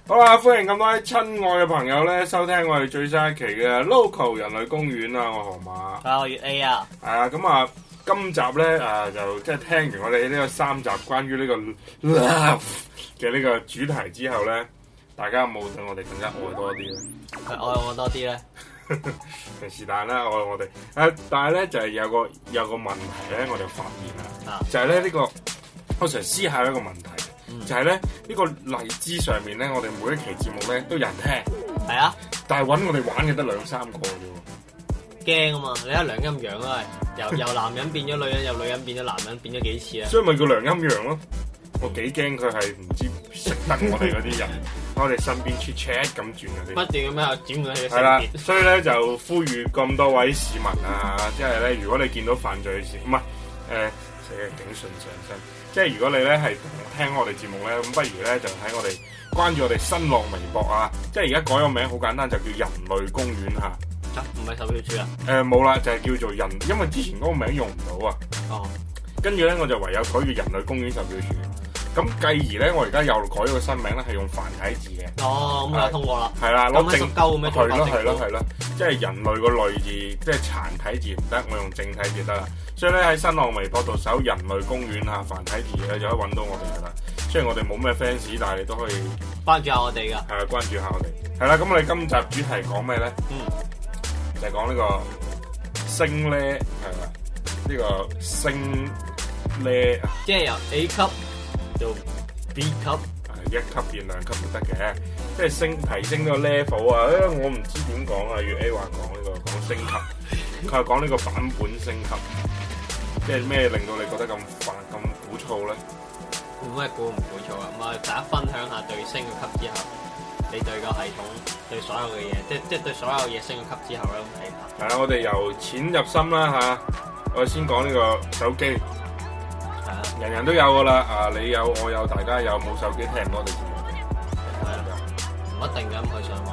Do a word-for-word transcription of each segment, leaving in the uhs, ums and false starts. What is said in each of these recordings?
好啦，歡迎咁多位親愛嘅朋友咧，收聽我哋最新一期嘅 Local 人類公園啊！我河馬， 啊，我月 A 啊， 係啊，咁啊，今集咧啊，就即係聽完我哋呢個三集關於呢個 love 嘅呢個主題之後咧，大家有冇對我哋更加愛多啲咧？ 愛我多啲咧？ 是但啦，愛我哋誒，但係咧就係、是、有個有個問題咧，我哋發現啊，就係咧呢個我成日思考一個問題。就係咧，呢個荔枝上面咧，我哋每一期節目咧都有人聽， 係啊， 但係揾我哋玩嘅得兩三個啫喎， 驚啊嘛！你睇梁陰陽啊，由由男人變咗女人，由女人變咗男人，變咗幾次啊？ 所以咪叫梁陰陽咯。我幾驚佢係唔知識得我哋嗰啲人，我哋身邊 chat chat 咁轉嗰啲， 不斷咁樣轉佢嘅性係啦， 別。 所以咧就呼籲咁多位市民啊，即係咧，如果你見到犯罪事，唔係誒，死嘅警訊上身。即係如果你咧係聽我哋節目咧，咁不如咧就喺我哋關注我哋新浪微博啊！即係而家改個名好簡單，就叫人類公園嚇。 啊，唔係售票處啊？ 誒冇啦，就係、是、叫做人，因為之前嗰個名用唔到啊。 哦。跟住咧，我就唯有改叫人類公園售票處。咁繼而咧，我而家又改咗個新名咧，係用繁體字嘅。 哦，咁就通過啦。 係啦，攞正鳩咁樣。 係咯係咯係咯，即係人類個類字，即係殘體字唔得，我用正體字得啦。所以咧喺新浪微博度搜人類公園啊，繁體字咧就可以揾到我哋噶啦。雖然我哋冇咩 fans，但係你都可以關注下我哋噶。 係啊，關注下我哋。係啦，咁我哋今集主題講咩咧？ 嗯， 就係講呢個升咧，係啦，呢個升咧， 即係由 A 級到 B 級， 係一級變兩級都得嘅，即係升提升個 level 啊！誒，我唔知點講啊，粵 A 話講呢個講升級，佢係講呢個版本升級。即係咩令到你覺得咁煩咁鼓噪咧？ 冇咩鼓唔鼓噪啊！咁啊，大家分享下對升個級之後，你對個系統對所有嘅嘢，即係即係對所有嘢升個級之後咧咁睇法。 係啊，我哋由淺入深啦嚇。我哋先講呢個手機。 係啊， 人人都有噶啦。啊，你有我有，大家有冇手機聽唔到我哋節目嘅？ 係啊，唔一定咁去上網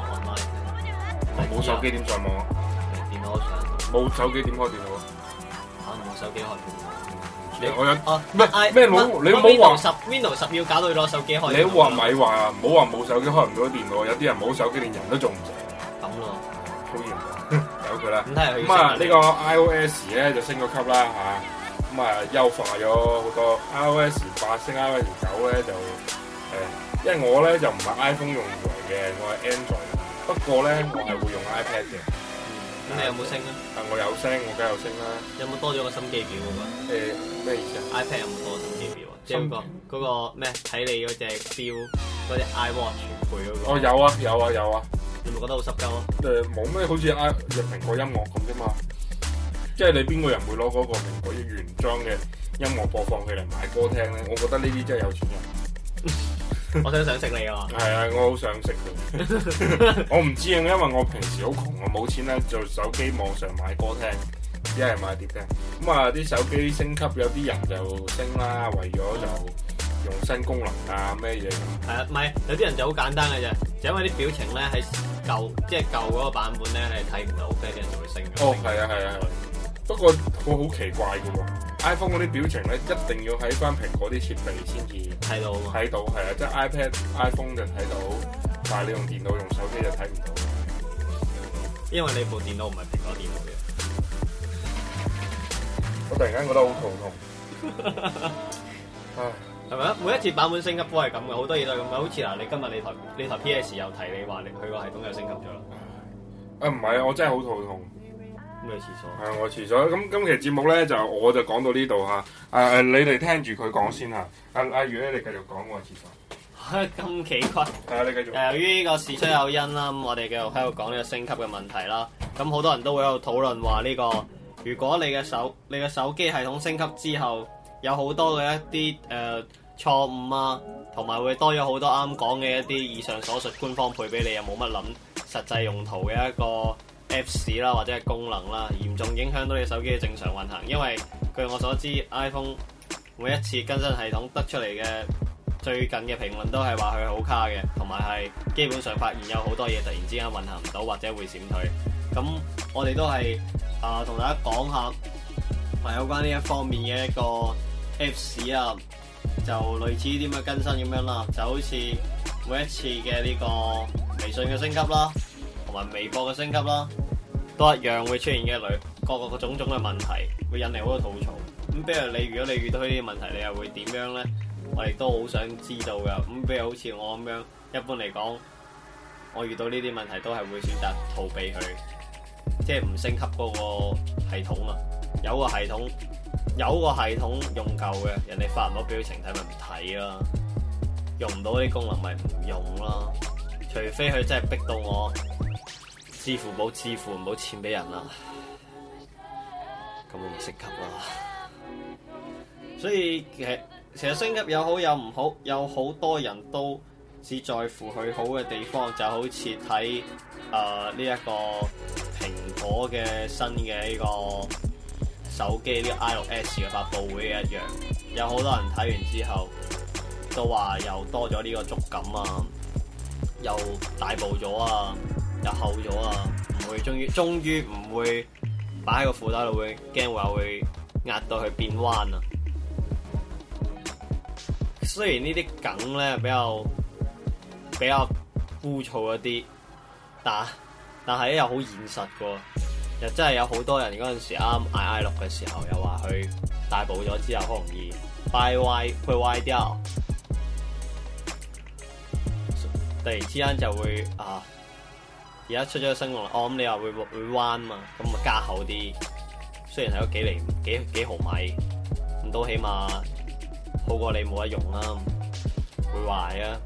online。 冇手機點上網啊？ 電腦上。 冇手機點開電腦啊？ 冇手機開你我有哦咩咩冇你冇話十 Windows 十要搞到攞手機開。 你話咪話唔好話冇手機開唔到電腦，有啲人冇手機連人都做唔成。 咁咯， 好嚴重，由佢啦。 咁睇咁啊，呢個 iOS 咧就升咗級啦嚇，咁啊優化咗好多。iOS 八升 iOS 九咧就誒，因為我咧就唔係 iPhone 用戶嚟嘅，我係 Android。不過咧我係會用 iPad 嘅。 咁你有冇升啊？ 啊，我有升，我梗係有升啦。 有冇多咗個心機表嗰個？ 誒咩意思啊 ？iPad 有冇多心機表啊？即係嗰個嗰個咩？睇你嗰隻表嗰隻 iWatch 配嗰個。 哦，有啊，有啊，有啊。 你咪覺得好濕鳩啊？ 誒冇咩，好似 i 入蘋果音樂咁啫嘛。即係你邊個人會攞嗰個蘋果原裝嘅音樂播放器嚟買歌聽咧？我覺得呢啲真係有錢人。 我想想識你啊！ 係啊，我好想識佢。我唔知啊，因為我平時好窮，我冇錢咧做手機網上買歌聽，只係買碟聽。咁啊，啲手機升級有啲人就升啦，為咗就用新功能啊咩嘢。 係啊，唔係有啲人就好簡單嘅啫，就因為啲表情咧喺舊即係舊嗰個版本咧係睇唔到，跟住啲人就會升。 哦，係啊，係啊，係。不過我好奇怪嘅喎 ，iPhone 嗰啲表情咧一定要喺翻蘋果啲設備先至睇到啊嘛。 睇到係啊，即係 iPad、iPhone 就睇到，但係你用電腦、用手機就睇唔到。 因為你部電腦唔係蘋果電腦嘅。 我突然間覺得好肚痛。唉， 係咪啊？每一次版本升級都係咁嘅，好多嘢都係咁嘅。好似嗱，你今日你台你台 P S 又提你話你佢個系統又升級咗啦。 啊唔係啊，我真係好肚痛。 咁你廁所？ 係我廁所。咁今期節目咧就我就講到呢度嚇。誒誒，你哋聽住佢講先嚇。阿阿如咧，你繼續講我廁所。 咁奇怪。 係啊，你繼續。 誒，由於呢個事出有因啦，咁我哋繼續喺度講呢個升級嘅問題啦。咁好多人都會喺度討論話呢個，如果你嘅手你嘅手機系統升級之後，有好多嘅一啲誒錯誤啊，同埋會多咗好多啱講嘅一啲以上所述官方配俾你又冇乜諗實際用途嘅一個 Apps 啦，或者係功能啦，嚴重影響到你手機嘅正常運行。因為據我所知 ，iPhone 每一次更新系統得出嚟嘅最近嘅評論都係話佢好卡嘅，同埋係基本上發現有好多嘢突然之間運行唔到或者會閃退。咁我哋都係啊同大家講下係有關呢一方面嘅一個 Apps 啊， 就類似啲咁嘅更新咁樣啦，就好似每一次嘅呢個微信嘅升級啦，同埋微博嘅升級啦，都一樣會出現嘅類各個個種種嘅問題，會引嚟好多吐槽。咁比如你如果你遇到呢啲問題，你又會點樣咧？我亦都好想知道噶。咁比如好似我咁樣，一般嚟講，我遇到呢啲問題都係會選擇逃避佢，即係唔升級嗰個系統啊。有個系統，有個系統用夠嘅，人哋發唔到表情睇咪唔睇啦，用唔到啲功能咪唔用啦。除非佢真係逼到我支付寶支付唔到錢俾人啦，咁我咪升級啦。所以其實其實升級有好有唔好，有好多人都只在乎佢好嘅地方，就好似睇誒呢一個蘋果嘅新嘅呢個手機呢個 I 六 S 嘅發佈會一樣，有好多人睇完之後都話又多咗呢個觸感啊，又大步咗啊，又厚咗啊，唔會終於終於唔會擺喺個褲袋度，會驚話會壓到佢變彎啊！雖然呢啲梗咧比較比較枯燥一啲，但但係咧又好現實噶，又真係有好多人嗰陣時啱買 I 六嘅時候，又話佢大步咗之後好容易掰歪，會歪掉，突然之間就會啊！而家出咗個新功能，我、哦、諗你話會會彎嘛，咁咪加厚啲，雖然係咗幾厘幾幾毫米，咁都起碼好過你冇得用啦，會壞啊！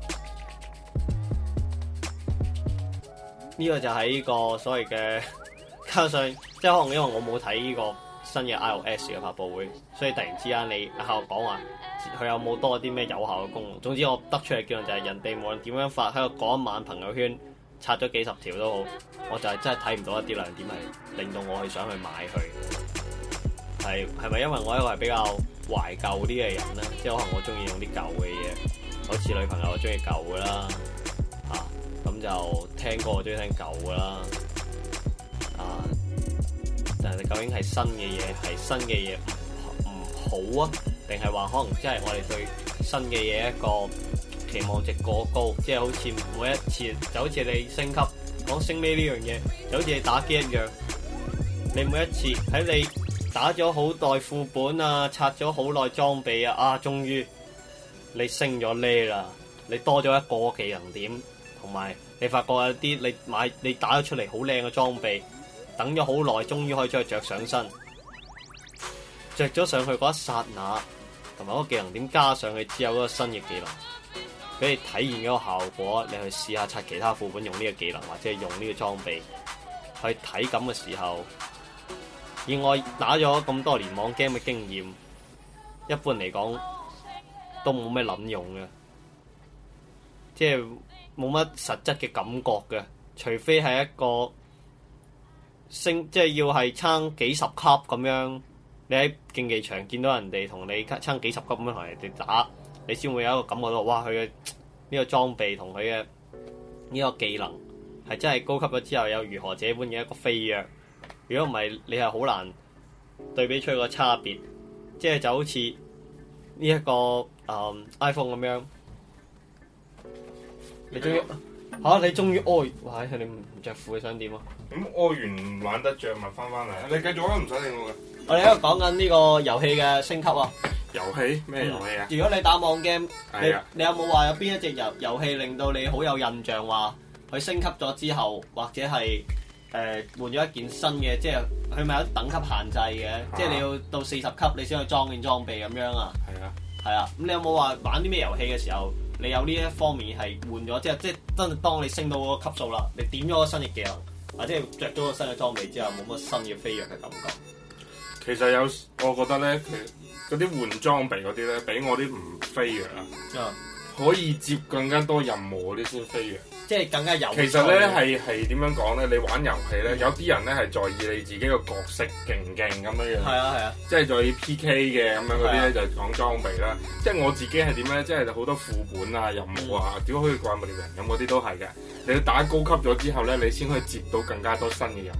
呢、這個就係呢個所謂嘅，加上即係可能因為我冇睇呢個新嘅 I O S 嘅發佈會，所以突然之間你喺度講話佢有冇多啲咩有效嘅功能。總之我得出嚟嘅結論就係人哋無論點樣發喺度講一晚朋友圈，刷咗幾十條都好，我就係真係睇唔到一啲亮點係令到我去想去買佢。係係咪因為我一個係比較懷舊啲嘅人咧？即係可能我中意用啲舊嘅嘢，好似女朋友中意舊嘅啦，啊咁就聽歌我中意聽舊嘅啦，啊但係究竟係新嘅嘢係新嘅嘢唔唔好啊，定係話可能即係我哋對新嘅嘢一個期望值過高，即係好似每一次就好似你升級講升呢呢樣嘢，就好似你打機一樣，你每一次喺你打咗好耐副本啊，刷咗好耐裝備啊，啊終於你升咗呢啦，你多咗一個技能點，同埋你發覺有啲你買你打咗出嚟好靚嘅裝備，等咗好耐終於可以將佢着上身，着咗上去嗰一剎那，同埋嗰個技能點加上去之後嗰個新嘅技能，俾你體驗嗰個效果，你去試下刷其他副本用呢個技能，或者係用呢個裝備去體感嘅時候，以我打咗咁多年網 game 嘅經驗，一般嚟講都冇咩撚用嘅，即係冇乜實質嘅感覺嘅，除非係一個升，即係要係撐幾十級咁樣，你喺競技場見到人哋同你撐幾十級咁樣同人哋打，你先會有一個感覺到，哇！佢嘅呢個裝備同佢嘅呢個技能係真係高級咗之後，有如何這般嘅一個飛躍。如果唔係，你係好難對比出個差別。即係就好似呢一個誒、嗯、iPhone 咁樣，你終於嚇、啊、你終於屙，哇！你唔着褲你想點啊？ 咁屙完唔玩得着咪翻返嚟，你繼續啊，唔使理我嘅。 我哋喺度講緊呢個遊戲嘅升級啊！ 遊戲咩遊戲啊？ 如果你打網 game，你係啊， 你有冇話有邊一隻遊遊戲令到你好有印象？話佢升級咗之後，或者係誒換咗一件新嘅，即係佢咪有等級限制嘅？啊、即係你要到四十級你先可以裝件裝備咁樣啊？係啊，係啊。咁你有冇話玩啲咩遊戲嘅時候，你有呢一方面係換咗？即係即係真係當你升到嗰個級數啦，你點咗個新嘅技能，或者係着咗個新嘅裝備之後，冇乜新嘅飛躍嘅感覺。 其實有，我覺得咧，佢嗰啲換裝備嗰啲咧，比我啲唔飛躍啊， 嗯、 可以接更加多任務嗰啲先飛躍。 即係更加有。 其實咧係係點樣講咧？你玩遊戲咧，有啲人咧係在意你自己個角色勁唔勁咁樣樣。係啊係啊。即係在意 P K 嘅咁樣嗰啲咧，就講裝備啦。即係我自己係點咧？即係好多副本啊、任務啊，點可以怪物獵人咁嗰啲都係嘅。你要打高級咗之後咧，你先可以接到更加多新嘅任務。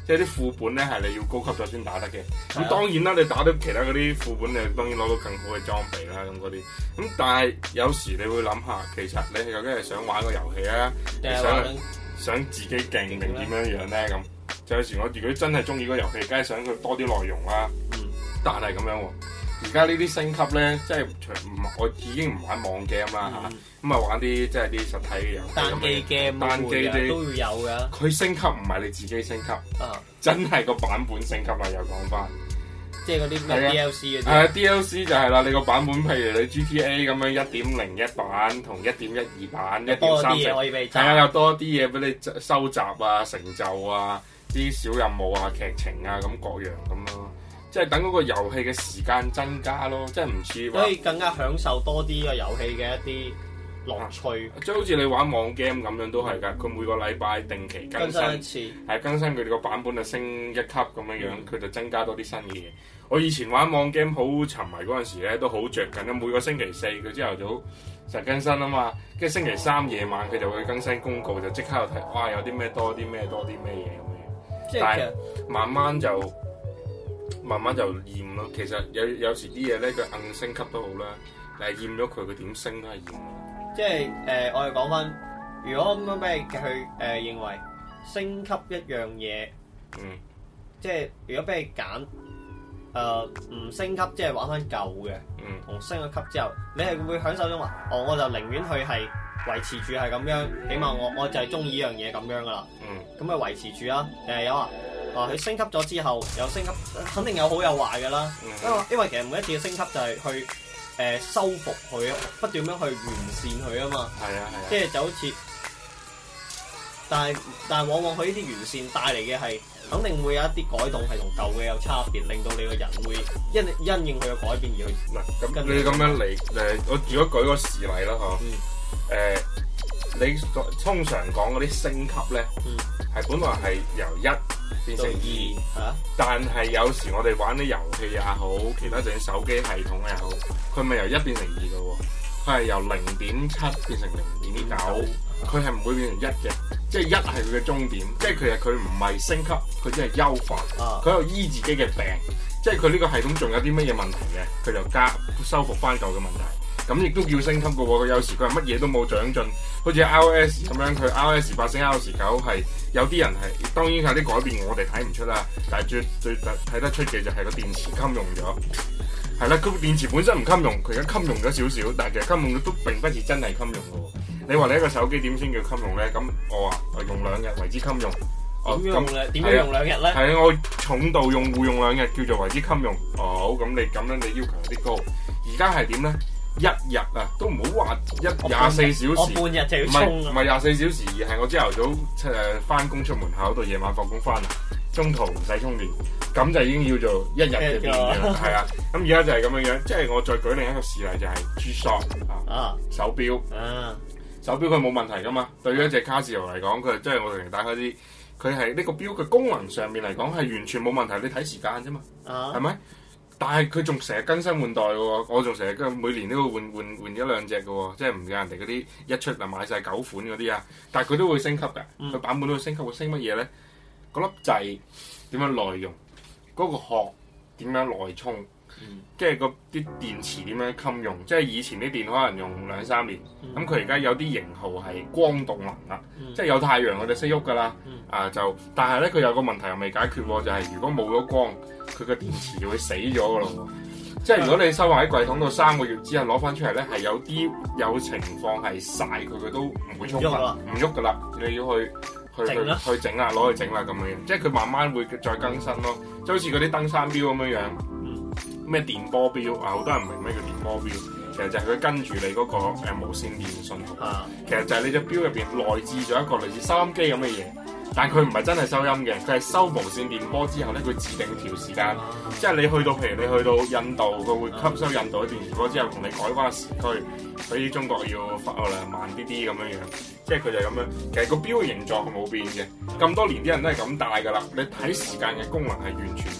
即係啲副本咧係你要高級咗先打得嘅。咁、 啊、 當然啦，你打到其他嗰啲副本，你當然攞到更好嘅裝備啦，咁嗰啲。咁但係有時你會諗下，其實你究竟係想玩個遊戲啊，定係想想自己勁定點樣樣咧？咁就有時我如果真係中意嗰個遊戲，梗係想佢多啲內容啦。嗯，但係咁樣喎。而家呢啲升級咧，即係唔我已經唔玩網 game 啦嚇，咁啊玩啲即係啲實體嘅遊戲， 單機 game 單機啲都要有㗎。 佢升級唔係你自己升級，啊、真係個版本升級啦！又講翻， 即係嗰啲咩 D L C 嗰啲。 係啊 ，D L C 就係啦，你個版本譬如你 G T A 咁樣一點零一版同一點一二版，一點三成，係啊，有多啲嘢俾你收集啊、成就啊、啲小任務啊、劇情啊咁各樣咁咯。即係等嗰個遊戲嘅時間增加咯，即係唔似話， 可以更加享受多啲個遊戲嘅一啲樂趣。 即係好似你玩網 game 咁樣都係㗎，佢每個禮拜定期更新， 更新一次， 係更新佢哋個版本就升一級咁樣樣，佢、嗯、就增加多啲新嘅嘢。我以前玩網 game 好沉迷嗰陣時咧，都好着緊啊！每個星期四佢朝頭早實更新啊嘛，跟住星期三夜晚佢就會更新公告，就即刻又睇，哇！有啲咩多啲咩多啲咩嘢咁樣。即係但係慢慢就。慢慢就厭咯，其實有有時啲嘢咧，佢硬升級都好啦，但係厭咗佢，佢點升都係厭。 即係誒、呃，我哋講翻，如果咁樣俾你去誒、呃、認為升級一樣嘢，嗯，即係如果俾你揀誒唔升級，即係玩翻舊嘅，嗯，同升咗級之後，你係會享受咗嘛？哦，我就寧願去係維持住係咁樣，起碼我我就係中意呢樣嘢咁樣噶啦，嗯，咁啊維持住啦，誒有啊。啊！佢升級咗之後，有升級，肯定有好有壞嘅啦。因為、嗯、因為其實每一次嘅升級就係去誒、呃、修復佢，不斷咁去完善佢啊嘛。係啊係啊。即係就好似，但係但係往往佢呢啲完善帶嚟嘅係，肯定會有一啲改動係同舊嘅有差別，令到你個人會因因應佢嘅改變而去。嗱咁、嗯， 你咁樣嚟誒，我如果舉個事例啦嗬，誒、嗯呃，你通常講嗰啲升級咧，係、嗯、本來係由一變成二，啊、但係有時我哋玩啲遊戲也好，其他就係手機系統也好，佢咪由一變成二嘅喎，佢係由零點七變成零點九，佢係唔會變成一嘅，即係一係佢嘅終點，即係其實佢唔係升級，佢只係優化，佢又醫自己嘅病，即係佢呢個系統仲有啲乜嘢問題嘅，佢就加修復翻舊嘅問題。咁亦都叫升級嘅喎，佢有時佢係乜嘢都冇長進，好似 iOS 咁樣，佢 iOS 八升 iOS 九係有啲人係，當然有啲改變我哋睇唔出啦，但係最最睇得出嘅就係個電池襟用咗，係啦，佢電池本身唔襟用，佢而家襟用咗少少，但係其實襟用咗都並不是真係襟用嘅喎。你話你一個手機點先叫襟用咧？咁我話我用兩日為之襟用， 點用咧？點樣用兩日咧？ 係啊，我重度用戶用兩日叫做為之襟用。哦，好，咁你咁樣你要求有啲高，而家係點咧？一日啊，都唔好話一廿四小時， 我半日就要充啊！ 唔係廿四小時，而係我朝頭早誒翻工出門口到夜晚放工翻嚟，中途唔使充電，咁就已經叫做一日嘅電嘅，係啊！咁而家就係咁樣樣，即係我再舉另一個事例就係 G-Shock 啊，手錶啊，手錶佢冇問題噶嘛，對於一隻卡士羅嚟講，佢即係我哋打開啲，佢係呢個錶嘅功能上面嚟講係完全冇問題，你睇時間啫嘛，係咪？但係佢仲成日更新換代嘅喎，我仲成日每年都會換換換一兩隻嘅喎，即係唔似人哋嗰啲一出就買晒九款嗰啲啊。但係佢都會升級嘅，佢、嗯、版本都會升級，會升乜嘢咧？嗰粒掣點樣耐用？嗰、嗰個殼點樣耐充？即係個啲電池點樣襟用？即係以前啲電可能用兩三年，咁佢而家有啲型號係光動能啦，嗯、即係有太陽佢就識喐㗎啦。嗯、啊就，但係咧佢有個問題又未解決喎，就係、是、如果冇咗光，佢個電池就會死咗㗎咯喎。即係如果你收埋喺櫃桶度三個月之後攞翻出嚟咧，係有啲有情況係曬佢，佢都唔會充分，唔喐㗎啦。你要去去去去整啦，攞去整啦咁樣樣。即係佢慢慢會再更新咯，即係好似嗰啲登山錶咁樣樣。咩電波錶啊？好多人唔明咩叫電波錶，其實就係佢跟住你嗰個誒無線電信號，啊、其實就係你隻錶入邊內置咗一個類似收音機咁嘅嘢，但係佢唔係真係收音嘅，佢係收無線電波之後咧，佢自定調時間，啊、即係你去到譬如你去到印度，佢會吸收印度嘅電磁波之後，同你改翻時區，比中國要發誒慢啲啲咁樣樣，即係佢就係咁樣。其實個錶嘅形狀係冇變嘅，咁多年啲人都係咁戴㗎啦。你睇時間嘅功能係完全。即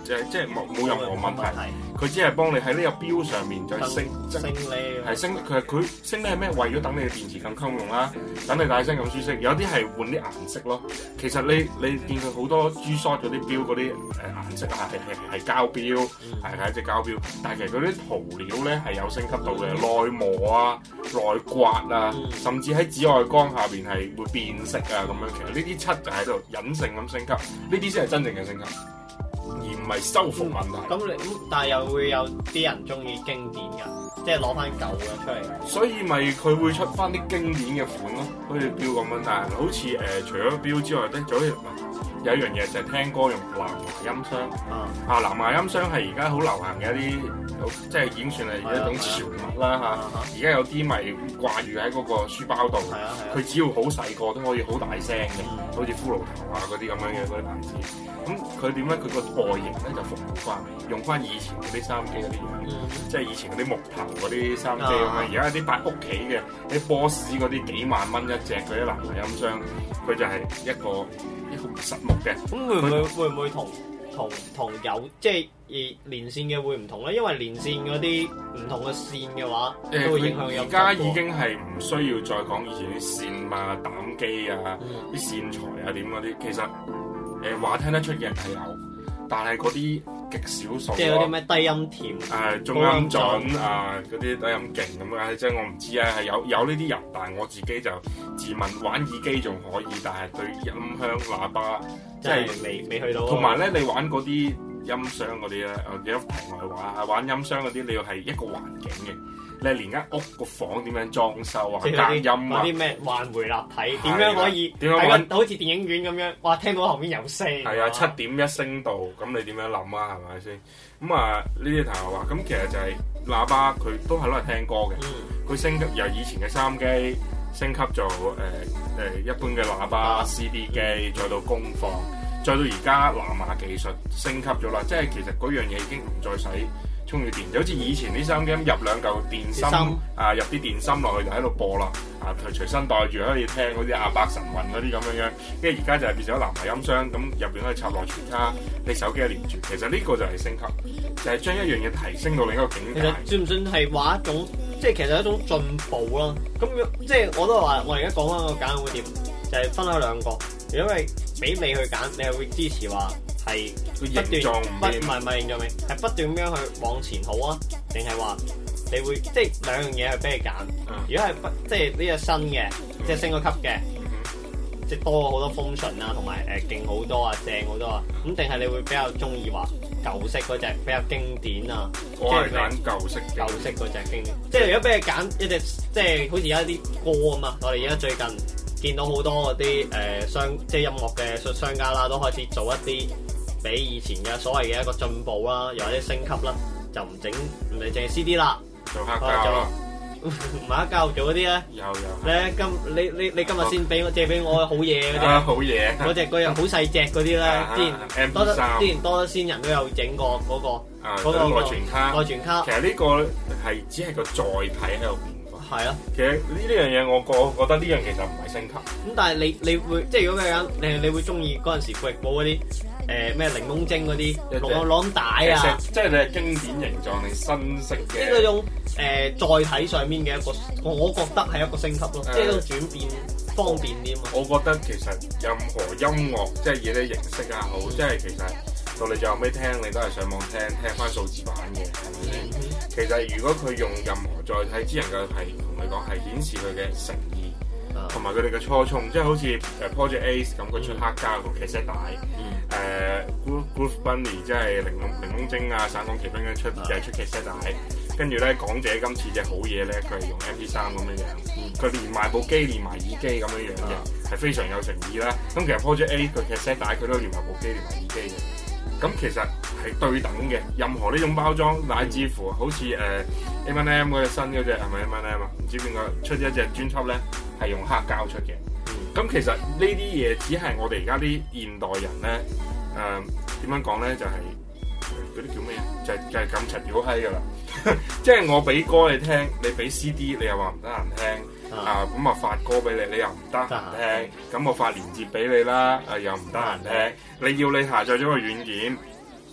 即係即係冇冇任何問題。佢只係幫你喺呢個錶上面再升升呢， 係升佢係佢升呢係咩？為咗等你嘅電池更襟用啦，等你戴身咁舒適。有啲係換啲顏色咯。其實你你見佢好多 G-Shock 嗰啲錶嗰啲誒顏色啊，係係係膠錶，係係一隻膠錶。但係其實嗰啲塗料咧係有升級到嘅，內磨啊、內刮啊，嗯、甚至喺紫外光下邊係會變色啊咁樣。其實呢啲漆就喺度隱性咁升級，呢啲先係真正嘅升級。而唔係修復問題。咁、嗯、 你但係又會有啲人中意經典㗎，即係攞翻舊嘅出嚟。 所以咪佢會出翻啲經典嘅款咯，好似錶咁樣。但係好似誒、呃，除咗錶之外咧，仲有有一樣嘢就係聽歌用藍牙音箱。啊，啊藍牙音箱係而家好流行嘅一啲，即係已經算係一種潮物啦嚇。而家有啲咪掛住喺嗰個書包度，佢只要好細個都可以好大聲嘅，好似骷髏頭啊嗰啲咁樣嘅嗰啲牌子。咁佢點咧？佢個外形咧就復古翻，用翻以前嗰啲收音機嗰啲樣，嗯、即係以前嗰啲木頭嗰啲收音機咁樣。而家啲擺屋企嘅啲波士嗰啲幾萬蚊一隻嗰啲藍牙音箱，佢就係一個一個實木嘅。咁會唔會會唔會同同同有即係而連線嘅會唔同咧？因為連線嗰啲唔同嘅線嘅話， 誒都會影響有。 而家已經係唔需要再講以前啲線啊、膽機啊、啲、嗯、線材啊點嗰啲，其實。誒話聽得出嘅人係有，但係嗰啲極少數。即係嗰啲咩低音甜、誒、呃、中音準啊，嗰啲低音勁咁樣，即係我唔知啊，係有有呢啲人，但係我自己就自問玩耳機仲可以，但係對音響喇叭即係未未去到。同埋咧，你玩嗰啲音箱嗰啲咧，誒幾多題外話，玩音箱嗰啲你要係一個環境嘅。你係連間屋個房點樣裝修啊？隔音啊？ 啲咩環迴立體點樣可以？點樣揾？好似電影院咁樣，哇！聽到後面有聲。 係啊，七點一聲道，咁你點樣諗啊？係咪先？咁啊，呢啲題外話，咁其實就係喇叭，佢都係攞嚟聽歌嘅。佢、嗯、升級由以前嘅收音機升級做誒誒、呃、一般嘅喇叭、啊、C D 機，再到功放，再到而家藍牙技術升級咗啦。即係其實嗰樣嘢已經唔再使充住電，就好似以前啲收音機入兩嚿電芯啊，入啲電芯落去就喺度播啦，啊隨隨身帶住可以聽嗰啲阿伯神韻嗰啲咁樣樣，跟住而家就係變成咗藍牙音箱，咁入邊可以插內存卡，你手機一連住，其實呢個就係升級，就係、是、將一樣嘢提升到另一個境界。 其實算唔算係話一種，即係其實一種進步啦？咁即係我都話，我而家講翻個揀會點，就係、是、分開兩個。如果係俾你去揀，你係會支持話？係不斷不唔係唔係認咗未？係不斷咁樣去往前好啊？定係話你會即係兩樣嘢去俾你揀？嗯、如果係不即係呢個新嘅，嗯、即係升咗級嘅，嗯、即係多咗好多 function 啊，同埋誒勁好多啊，正好多啊。咁定係你會比較中意話舊式嗰隻比較經典啊？ 我係揀舊式舊式嗰隻經典。即係如果俾你揀一隻，即係好似而家啲歌啊嘛，我哋而家最近見到好多嗰啲誒商即係音樂嘅商家啦，都開始做一啲。比以前嘅所謂嘅一個進步啦，又或者升級啦，就唔整唔係淨係 C D 啦， 做黑膠啦， 唔係黑膠做嗰啲咧， 有有。 咧今你你你今日先俾我借俾我好嘢嗰啲， 啊好嘢， 嗰隻嗰樣好細隻嗰啲咧，之前多得之前多得先人都有整過嗰個嗰個內存卡， 內存卡。 其實呢個係只係個載體喺度變。 係啊， 其實呢呢樣嘢我覺覺得呢樣其實唔係升級。 咁但係你你會即係如果嘅人，你你會中意嗰陣時貴寶嗰啲。誒咩檸檬精嗰啲攞攞帶啊， 即係你係經典形狀定新式嘅？ 呢個種誒載體上面嘅一個，我覺得係一個升級咯，即係一種轉變方便啲嘛。 我覺得其實任何音樂即係以啲形式啊好，即係其實到你最後尾聽，你都係上網聽聽翻數字版嘅，係咪先？嗯、其實如果佢用任何載體，只能夠係同你講係顯示佢嘅誠意。同埋佢哋嘅初衷，即係好似誒 Project Ace 咁，佢出黑膠個 cassette 帶，誒 Groove Bunny 即係檸檬檸檬精啊、省港奇兵咧出又係出 cassette 帶，跟住咧港姐今次隻好嘢咧，佢係用 M P 三咁樣樣，佢連埋部機連埋耳機咁樣樣嘅，係非常有誠意啦。咁其實 Project Ace 個 cassette 帶佢都連埋部機連埋耳機嘅，咁其實係對等嘅。任何呢種包裝，乃至乎好似誒 M and M 嗰隻新嗰隻係咪 M and M 啊？唔知邊個出咗一隻專輯咧？係用黑膠出嘅，咁、嗯、其實呢啲嘢只係我哋而家啲現代人咧，誒點樣講咧？就係嗰啲叫咩？就係、是、就係咁柒屌閪噶啦！即係我俾歌你聽，你俾 C D 你又話唔得閒聽，啊咁啊我發歌俾你，你又唔得閒聽，咁我發連結俾你啦，啊又唔得閒聽，你要你下載咗個軟件，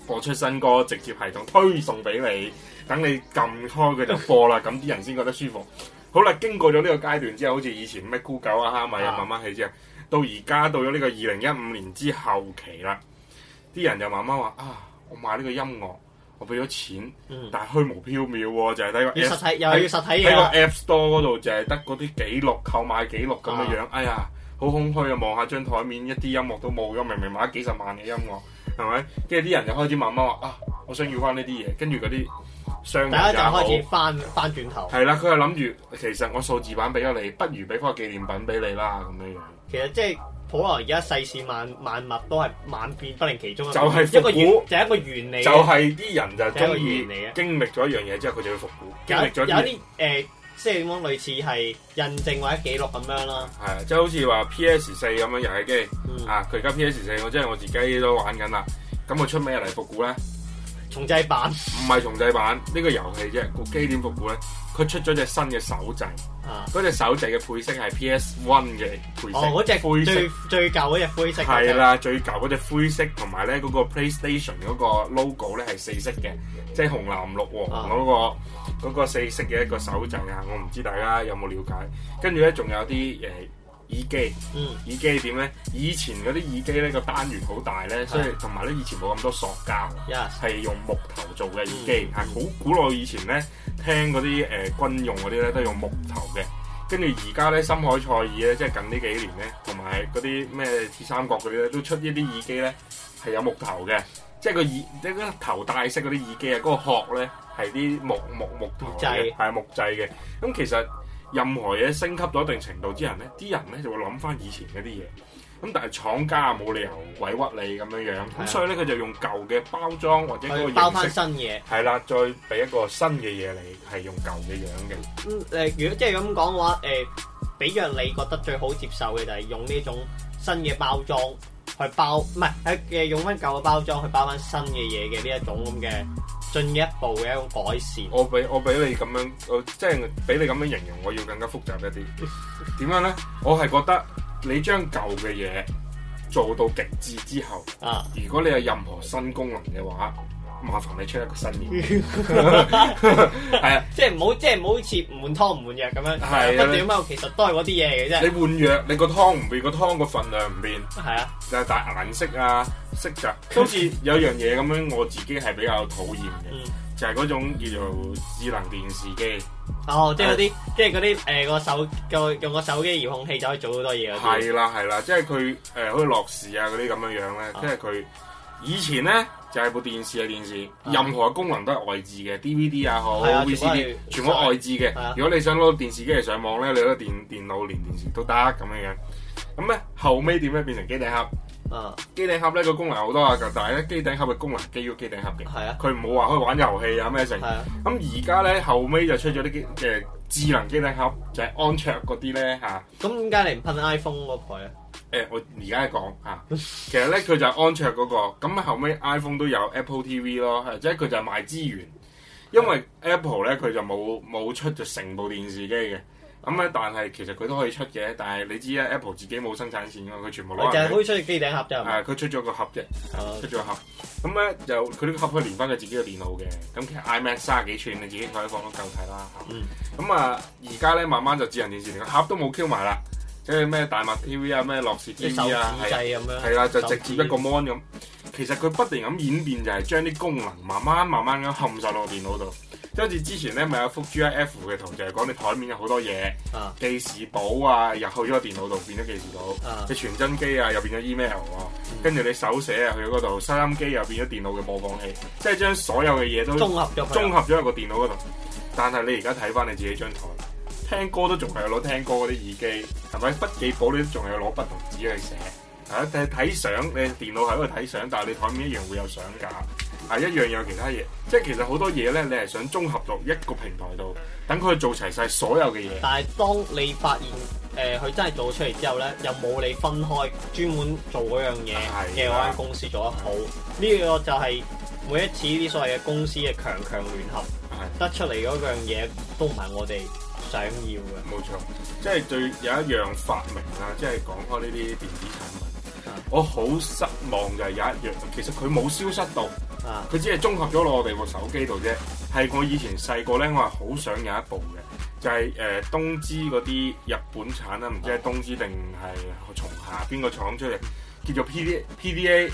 播出新歌，直接系統推送俾你，等你撳開佢就播啦，咁啲人先覺得舒服。好啦，經過咗呢個階段之後，好似以前咩酷狗啊、蝦米啊，慢慢起之後，到而家到咗呢個二零一五年之後期啦，啲人就慢慢話啊，我買呢個音樂。我俾咗錢，嗯、但係虛無縹緲喎，就係睇個 App, 要實體又要實體嘢， 喺個 App Store 嗰度就係得嗰啲記錄、購買記錄咁嘅樣。啊、哎呀，好空虛啊！望下張台面一啲音樂都冇咗，明明買咗幾十萬嘅音樂，係咪？跟住啲人就開始慢慢話啊，我想要翻呢啲嘢。跟住嗰啲商人大家就開始翻翻轉頭。 係啦，佢係諗住其實我數字版俾咗你，不如俾翻個紀念品俾你啦咁樣樣。 其實即係。普羅而家世事萬萬物都係萬變不離其宗， 就係復古， 就係一個原理。 就係啲人就中意嚟嘅。經歷咗一樣嘢之後，佢就要復古。 有經歷咗有啲誒、呃，即係點講？類似係印證或者記錄咁樣啦。 係，即係好似話 P S 四咁樣遊戲機、嗯、啊！佢而家 P S 四，我即係我自己都玩緊啦。咁我出咩嚟復古咧？ 重製版唔係重製版，呢、呢個遊戲啫。個機點復古咧？佢出咗隻新嘅手掣，嗰隻、啊、手掣嘅配色係 P S One 嘅配色。 哦，嗰隻灰色最最舊嗰隻灰色。 係啦，最舊嗰隻灰色，同埋咧嗰個 PlayStation 嗰個 logo 咧係四色嘅，即係紅藍綠黃嗰個嗰個四色嘅一個手掣啊！我唔知大家有冇了解。跟住咧仲有啲誒。耳機，嗯、耳機點咧？以前嗰啲耳機咧個單元好大咧，所以同埋咧以前冇咁多塑膠，係 Yes. 用木頭做嘅耳機，係好、嗯、古老以前咧聽嗰啲誒軍用嗰啲咧都係用木頭嘅。跟住而家咧深海賽爾咧，即係近呢幾年咧，同埋嗰啲咩鐵三角嗰啲咧，都出呢啲耳機咧係有木頭嘅，即係個耳即係嗰頭戴式嗰啲耳機啊，嗰、嗰個殼咧係啲木木木頭嘅，係木製嘅。咁其實任何嘢升級到一定程度之後咧，啲人咧就會諗翻以前嗰啲嘢。咁但係廠家冇理由委屈你咁樣樣，咁的所以咧佢就用舊嘅包裝或者嗰個包翻新嘢， 係啦，再俾一個新嘅嘢你，係用舊嘅樣嘅。 咁誒、嗯呃，如果即係咁講嘅話，誒、呃，比較你覺得最好接受嘅就係用呢種新嘅包裝去包，唔係喺嘅用翻舊嘅包裝去包翻新嘅嘢嘅呢一種咁嘅進一步嘅一種改善。 我俾我俾你咁樣，我即係俾你咁樣形容，我要更加複雜一啲。點樣咧？我係覺得。你將舊嘅嘢做到極致之後，啊！如果你有任何新功能嘅話，麻煩你出一個新嘢。係啊， 即係唔好，即係唔好似唔換湯唔換藥咁樣。係啊，不斷咁其實都係嗰啲嘢嚟嘅啫。 你換藥，你個湯唔變，個湯個份量唔變。 係啊， 就係但係顏色啊、色澤，好似有樣嘢咁樣，我自己係比較討厭嘅。嗯就係嗰種叫做智能電視機， 哦，即係嗰啲，即係嗰啲誒個手個用個手機遙控器就可以做好多嘢嗰啲。 係啦係啦，即係佢誒好似樂視啊嗰啲咁樣樣咧，即係佢以前咧就係、是、部電視嘅電視，啊、任何嘅功能都係外置嘅 ，D V D 也好 V C D 全部外置嘅。 啊、 如果你想攞電視機嚟上網咧，你攞電電腦連電視都得咁樣樣。咁咧後尾點咧變成機頂盒？啊！機頂盒咧個功能好多啊，但係咧機頂盒嘅功能基於機頂盒嘅，係啊，佢唔好話可以玩遊戲啊咩成。咁而家咧後尾就出咗啲機嘅智能機頂盒，就係、是、安卓嗰啲咧嚇。咁點解你唔噴 iPhone 嗰台啊？誒、欸，我而家講嚇，其實咧佢就係安卓嗰、那個，咁後尾 iPhone 都有 Apple T V 咯，即係佢就係賣資源，因為 Apple 咧佢就冇冇出就成部電視機嘅。咁咧，但係其實佢都可以出嘅，但係你知啦 Apple 自己冇生產線㗎嘛，佢全部攞。就係可以出機頂盒啫。係，佢出咗個盒啫，嗯、出咗個盒。咁咧就佢呢個盒可以連翻佢自己嘅電腦嘅。咁其實 iMac 三十幾寸，你自己可以放到夠睇啦。咁、嗯、啊，而家咧慢慢就智能電視連個盒都冇 Q 埋啦，即係咩大麥 T V 啊、咩樂視 T V 啊，係係啦，就直接一個 mon 咁。其實佢不斷咁演變，就係將啲功能慢慢慢慢咁冚晒落個電腦度。即好似之前咧，咪有幅 G I F 嘅圖，就係講你台面有好多嘢，啊、記事簿啊，入去咗個電腦度變咗記事簿，你傳、啊、真機啊又變咗 email 啊，跟住、嗯、你手寫啊去咗嗰度，收音機又變咗電腦嘅播放器，即係將所有嘅嘢都綜合咗，綜合咗喺個電腦嗰度。但係你而家睇翻你自己張台，聽歌都仲係攞聽歌嗰啲耳機，係咪筆記簿你都仲係攞筆同紙去寫？啊，睇睇相，你電腦喺度睇相，但係你台面一樣會有相架。係一樣有其他嘢，即係其實好多嘢咧，你係想綜合到一個平台度，等佢做齊晒所有嘅嘢。但係當你發現誒佢、呃、真係做出嚟之後咧，又冇你分開專門做嗰樣嘢嘅嗰間公司做得好，呢的個就係每一次呢啲所謂嘅公司嘅強強聯合的得出嚟嗰樣嘢，都唔係我哋想要嘅。冇錯，即係最有一樣發明啦，即係講開呢啲電子產品。 我好失望就係有一樣，其實佢冇消失到，佢、 啊、 只係綜合咗落我哋部手機度啫。係我以前細個咧，我係好想有一部嘅，就係、是、誒、呃、東芝嗰啲日本產啦，唔知係東芝定係松下邊個廠出嚟，叫做 P D P D A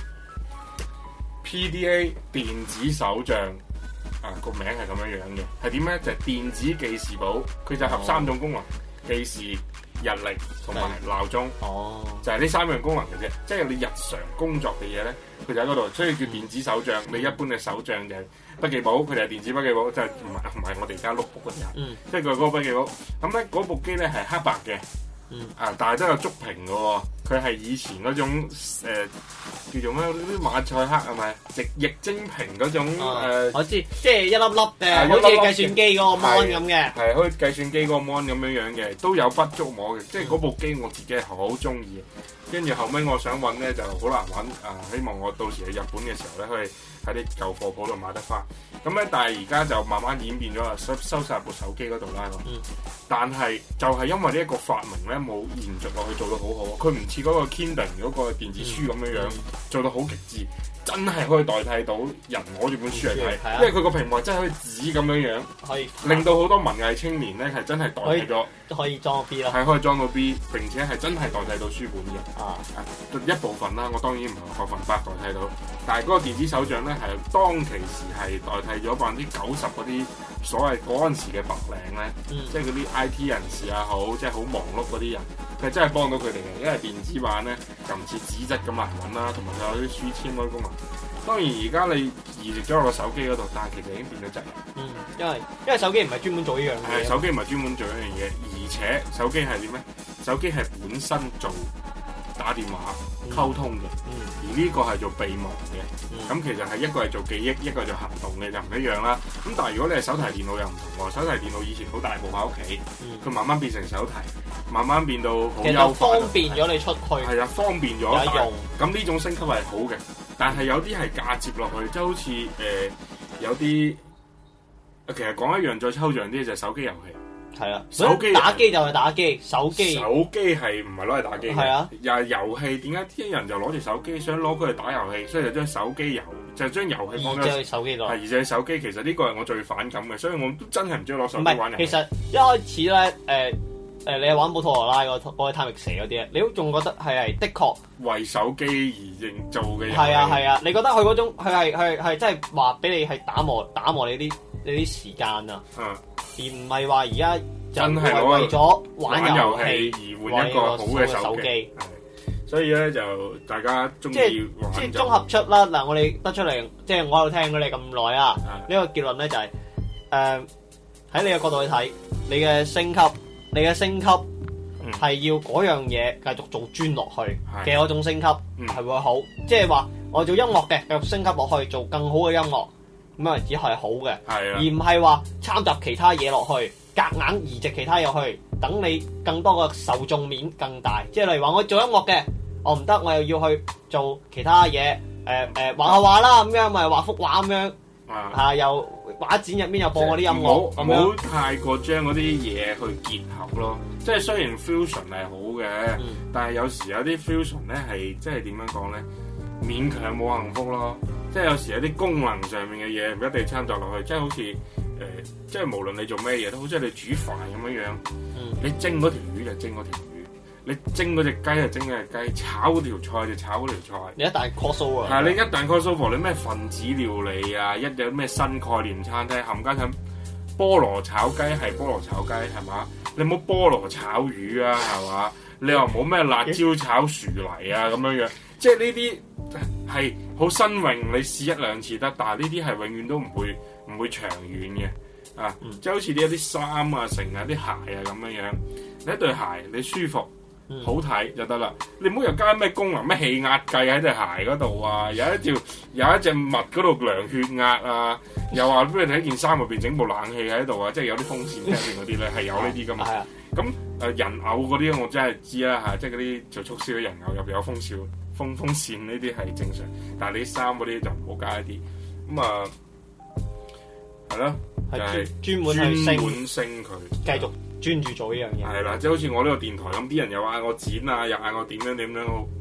P D A 電子手帳。啊，個名係咁樣樣嘅，係點咧？就係、是、電子記事簿，佢就合三種功能：記事、日曆同埋鬧鐘。哦，就係呢三樣功能嘅啫。即係你日常工作嘅嘢咧，佢就喺嗰度，所以叫電子手帳。嗯、你一般嘅手帳就係筆記簿，佢就係電子筆記簿，就係唔係唔係我哋而家碌 book 嗰啲啊。嗯。即係佢嗰個筆記簿。咁咧嗰部機咧係黑白嘅。嗯。啊，但係都有觸屏嘅喎。佢係以前嗰種誒、呃、叫做咩啲馬賽克係咪？液液晶屏嗰種、哦呃、我知，即係一粒粒嘅，好似計算機嗰個 mon 咁嘅。係，好似計算機嗰個 mon 咁樣樣嘅，都有筆觸摸嘅。即係嗰部機我自己係好中意。跟住後尾我想揾咧就好難揾啊！希望我到時去日本嘅時候咧，可以喺啲舊貨鋪度買得翻。咁咧，但係而家就慢慢演變咗啦，收收曬部手機嗰度啦。嗯。但係就係因為呢一個發明咧，冇延續落去做到好好。佢唔似嗰個 Kindle 嗰個電子書咁樣樣、嗯、做到好極致，真係可以代替到人攞住本書嚟睇。嗯、因為佢個屏幕真係可以紙咁樣樣，可以令到好多文藝青年咧係真係代替咗，都可以裝 B 啦，係可以裝到 B， 並且係真係代替到書本嘅。啊，一部分啦，我當然唔係百分百代替到，但係嗰個電子手帳咧係當其時係代替咗百分之九十嗰啲所謂嗰陣時嘅白領咧，嗯、即係嗰啲 I T 人士也好，即係好忙碌嗰啲人，佢真係幫到佢哋嘅，因為電子版咧就唔似紙質咁難揾啦，同埋佢有啲書籤嗰啲功能。當然而家你移植咗落個手機嗰度，但係其實已經變咗質。嗯，因為因為手機唔係專門做呢樣嘢。係手機唔係專門做呢樣嘢，而且手機係點咧？手機係本身做打電話溝通嘅，嗯嗯、而呢個係做備忘嘅。咁、嗯、其實係一個係做記憶，一個係做行動嘅，就唔一樣啦。咁但係如果你係手提電腦又唔同喎，手提電腦以前好大部喺屋企，佢、嗯、慢慢變成手提，慢慢變到好優化，方便咗你出去。係啊，方便咗。有用。咁呢種升級係好嘅。但係有啲係嫁接落去，即係好似誒、呃、有啲，其實講一樣再抽象啲就係手機遊戲。係啊，手機打機就係打機，手機手機係唔係攞嚟打機嘅？係啊，又係遊戲，點解啲人就攞住手機想攞佢嚟打遊戲？所以就將手機遊就將遊戲放咗手機度。係，而且手機其實呢個係我最反感嘅，所以我都真係唔中意攞手機玩遊戲。其實一開始咧，誒、呃。誒，你係玩寶陀羅拉嗰個《貪域蛇》嗰啲咧，你都仲覺得係係的確為手機而營造嘅嘢。係啊係啊，你覺得佢嗰種佢係係係真係話俾你係打磨打磨你啲你啲時間啊，嗯、而唔係話而家真係為咗玩遊戲而換一個好嘅手機。所以咧就大家中意玩即係綜合出啦。嗱，我哋得出嚟，即係我喺度聽咗你咁耐啊。呢、嗯、個結論咧就係誒喺你嘅角度去睇，你嘅升級。你嘅升級係要嗰樣嘢繼續做專落去嘅嗰種升級係會好，即係話我做音樂嘅繼續升級落去做更好嘅音樂，咁樣只係好嘅，而唔係話參雜其他嘢落去，夾硬移植其他嘢落去，等你更多嘅受眾面更大。即係例如話我做音樂嘅，我唔得，我又要去做其他嘢，誒誒畫下畫啦，咁樣咪畫幅畫咁樣。啊！啊又畫展入面又播嗰啲音樂，唔好唔好太過將嗰啲嘢去結合咯。即係雖然 fusion 係好嘅，嗯、但係有時有啲 fusion 咧係即係點樣講咧？勉強冇幸福咯。即係有時有啲功能上面嘅嘢唔一定參雜落去，即係好似誒、呃，即係無論你做咩嘢都好，似你煮飯咁樣樣，嗯、你蒸嗰條魚就蒸嗰條魚。你蒸嗰隻雞就蒸嗰隻雞，炒嗰條菜就炒嗰條菜。你一旦 crossover 係你一旦 crossover，你咩分子料理啊，一有咩新概念餐廳，冚家鏟菠蘿炒雞係菠蘿炒雞係嘛？你冇菠蘿炒魚啊係嘛？你又冇咩辣椒炒薯泥啊咁樣樣，即係呢啲係好新穎，你試一兩次得，但係呢啲係永遠都唔會唔會長遠嘅啊！嗯、即係好似啲一啲衫啊、成啊、啲鞋啊咁樣樣，你一對鞋你舒服。嗯、好睇就得啦，你唔好又加咩功能咩氣壓計喺對鞋嗰度啊，有一條有一隻襪嗰度量血壓啊，又話俾你睇件衫入邊整部冷氣喺度啊，即係有啲風扇入邊嗰啲咧係有呢啲噶嘛。咁誒人偶嗰啲我真係知啦嚇，即係嗰啲做促銷嘅人偶入邊有風扇風風扇呢啲係正常，但係你衫嗰啲就唔好加一啲。咁啊係咯，係專門專門升佢繼續。專注做呢樣嘢，係啦，即係好似我呢個電台咁，啲人又嗌我剪啊，又嗌我點樣點樣，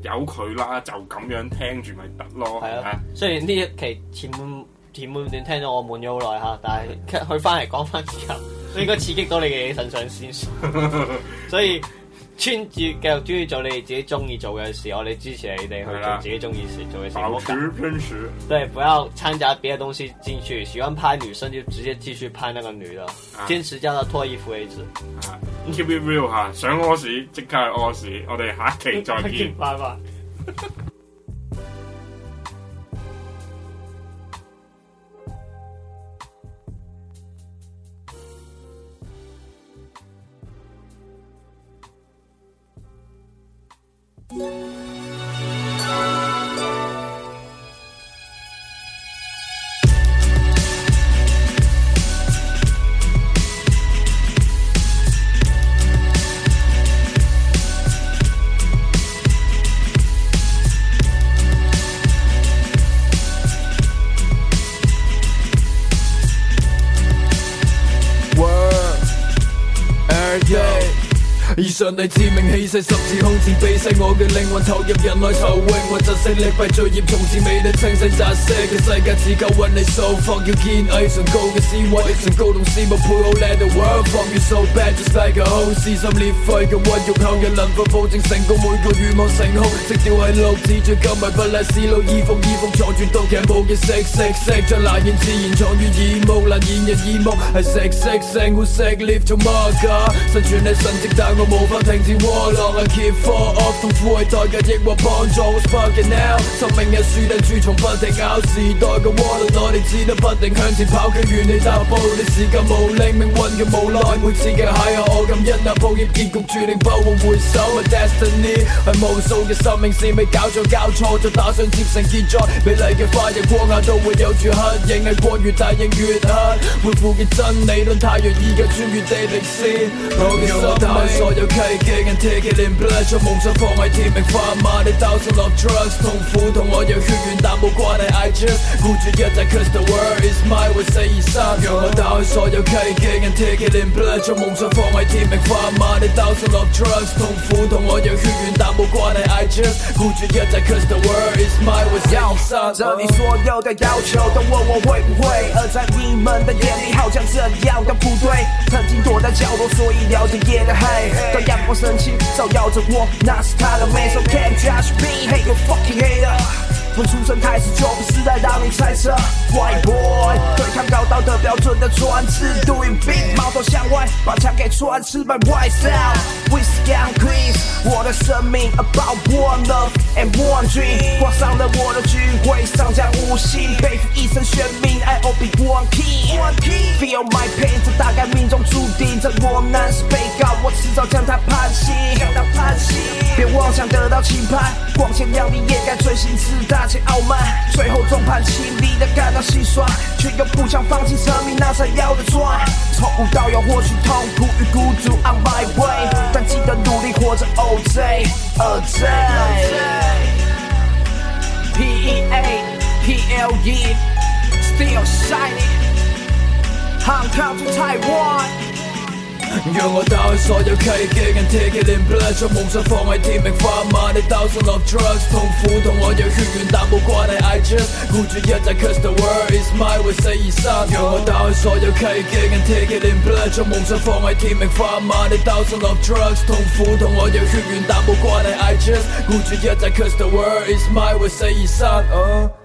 由佢啦，就咁樣聽住咪得咯。 係啊，雖然呢一期前半前半段聽咗我悶咗好耐嚇，但係佢翻嚟講翻之後，應該刺激到你嘅腎上腺素，所以專注繼續專注做你哋自己中意做嘅事，我哋支持你哋去做自己中意事做嘅事。 保持偏食。 對，不要摻雜別的東西進去。喜歡拍女生就直接繼續拍那個女的，堅、啊、持叫她脫衣服為止。 啊 keep it real 嚇，想屙屎即刻去屙屎。我哋下一期再見， 拜拜。 以上帝致命氣勢，十字空前避世，我嘅靈魂投入人海投泳，或窒息力弊罪孽，從此未得清醒窒息嘅世界只夠揾你數 fuck 要堅毅崇高嘅思維，崇高同事物配好 let the world fuck you so bad just like a hoe， 撕心裂肺嘅屈辱後，人能否保證成功？每個願望成空，直掉喺六字最今日不賴思路，衣服衣服藏住毒劇冇嘅色色色，將難言自然藏於耳目，難言人耳目係食色性會食 live 做乜㗎？生存係神蹟，但我無法停止窩浪 I keep fall off， 痛苦係代價，抑或幫助 What's fucking now？ 生命嘅樹頂蛀蟲不停咬，時代嘅渦輪我哋只得不停向前跑，卻原地踏步，你時間無力，命運嘅無奈，每次嘅邂逅我感恩啊，抱歉結局注定不會回首 My destiny 係無數嘅生命線未搞錯搞錯，就打算接成結在美麗嘅花日光下都會有住黑影，係過越大影越黑，背負嘅真理論太陽已經穿越地平線，我嘅心係所有契機 and take it in blood， 將夢想放喺天命化馬，你兜上落 drugs， 痛苦同我有血緣但冇關係 I just 顧住一切 cause the world is mine， 為四二三讓我打開所有契機 and take it in blood， 將夢想放喺天命化馬，你兜上落 drugs， 痛苦同我有血緣但冇關係 I just 顧住一切 cause the world is mine， 為四二三這裡所有的要求都問我會不會，而在你們的眼裡好像這樣的不對，曾經躲在角落所以了解夜的黑，當陽光升起照耀着我，那是他的美 So can't judge me Hey you fucking hater， 從出生開始就不是在讓你猜測 White boy 對抗高道德標準的專制 Doing big 矛頭向外把槍給穿刺 My white sound Whiskey and Chris 我的生命 About one love and one dream 掛上了我的軍徽上將無形背負一生懸命 I only one key Feel my pain 這大概命中注定這我難是被告我遲早將它判刑別妄想得到輕判光鮮亮麗掩蓋罪行自大且傲慢最後眾叛親離的感到心酸卻又不想放棄生命那才要的賺從無到有獲取痛苦與孤獨 On my way 但記得努力活着 O J O J P E A P L E Still shining Hong Kong to Taiwan 讓我打開所有契機 and take it in blood， 將夢想放喺天命化馬，你兜上落 drugs， 痛苦同我有血緣但冇關係 I just 顧住一切 cause the world is mine， 為四二三讓我打開所有契機 and take it in blood， 將夢想放喺天命化馬，你兜上落 drugs， 痛苦同我有血緣但冇關係 I just 顧住一切 cause the world is mine， 為四二三